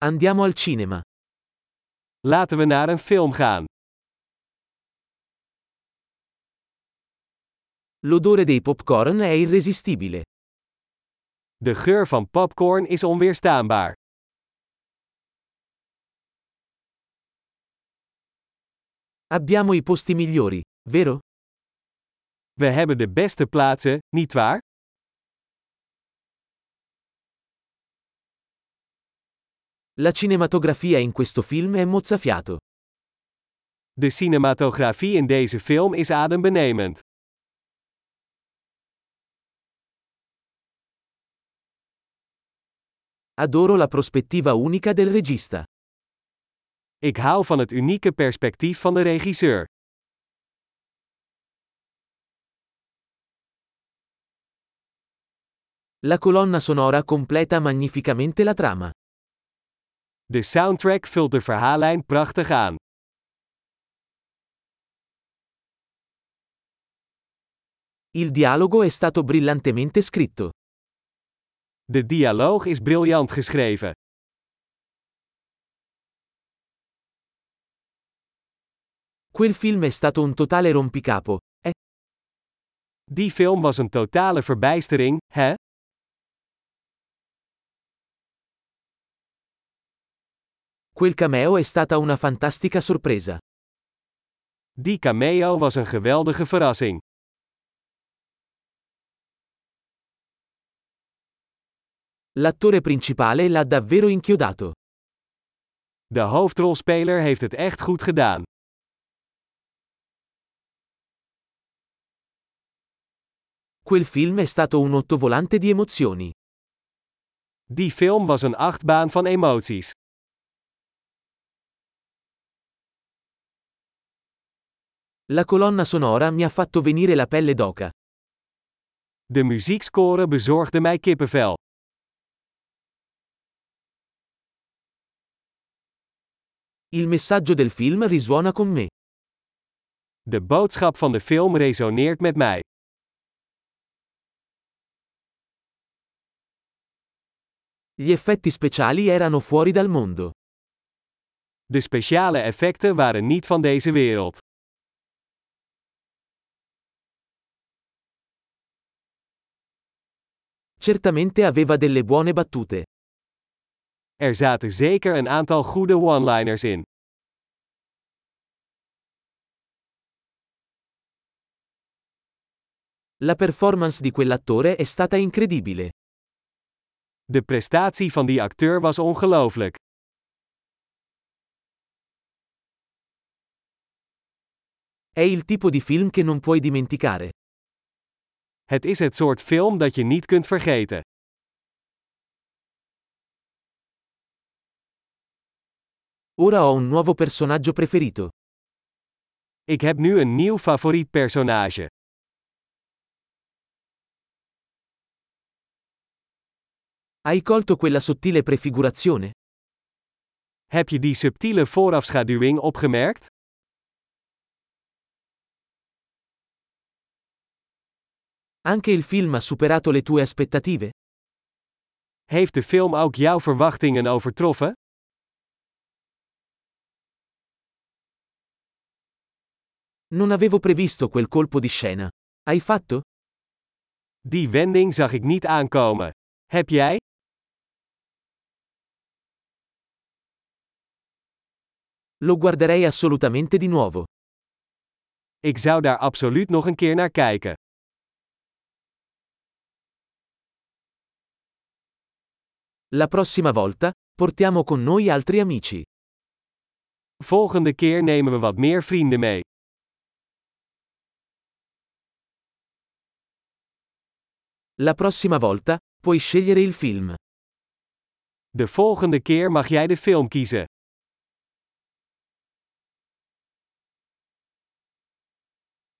Andiamo al cinema. Laten we naar een film gaan. L'odore dei popcorn è irresistibile. De geur van popcorn is onweerstaanbaar. Abbiamo i posti migliori, vero? We hebben de beste plaatsen, nietwaar? La cinematografia in questo film è mozzafiato. De cinematografie in deze film is adembenemend. Adoro la prospettiva unica del regista. Ik hou van het unieke perspectief van de regisseur. La colonna sonora completa magnificamente la trama. De soundtrack vult de verhaallijn prachtig aan. Il dialogo è stato brillantemente scritto. De dialoog is briljant geschreven. Quel film è stato un totale rompicapo, eh? Die film was een totale verbijstering, hè? Quel cameo è stata una fantastica sorpresa. Die cameo was een geweldige verrassing. L'attore principale l'ha davvero inchiodato. De hoofdrolspeler heeft het echt goed gedaan. Quel film è stato un ottovolante di emozioni. Die film was een achtbaan van emoties. La colonna sonora mi ha fatto venire la pelle d'oca. De muziekscore bezorgde mij kippenvel. Il messaggio del film risuona con me. De boodschap van de film resoneert met mij. Gli effetti speciali erano fuori dal mondo. De speciale effecten waren niet van deze wereld. Certamente aveva delle buone battute. Er zaten zeker een aantal goede one-liners in. La performance di quell'attore è stata incredibile. De prestatie van die acteur was ongelooflijk. È il tipo di film che non puoi dimenticare. Het is het soort film dat je niet kunt vergeten. Ora ho un nuovo personaggio preferito. Ik heb nu een nieuw favoriet personage. Hai colto quella sottile prefigurazione? Heb je die subtiele voorafschaduwing opgemerkt? Anche il film ha superato le tue aspettative? Heeft de film ook jouw verwachtingen overtroffen? Non avevo previsto quel colpo di scena. Hai fatto? Die wending zag ik niet aankomen. Heb jij? Lo guarderei assolutamente di nuovo. Ik zou daar absoluut nog een keer naar kijken. La prossima volta, portiamo con noi altri amici. Volgende keer nemen we wat meer vrienden mee. La prossima volta, puoi scegliere il film. De volgende keer mag jij de film kiezen.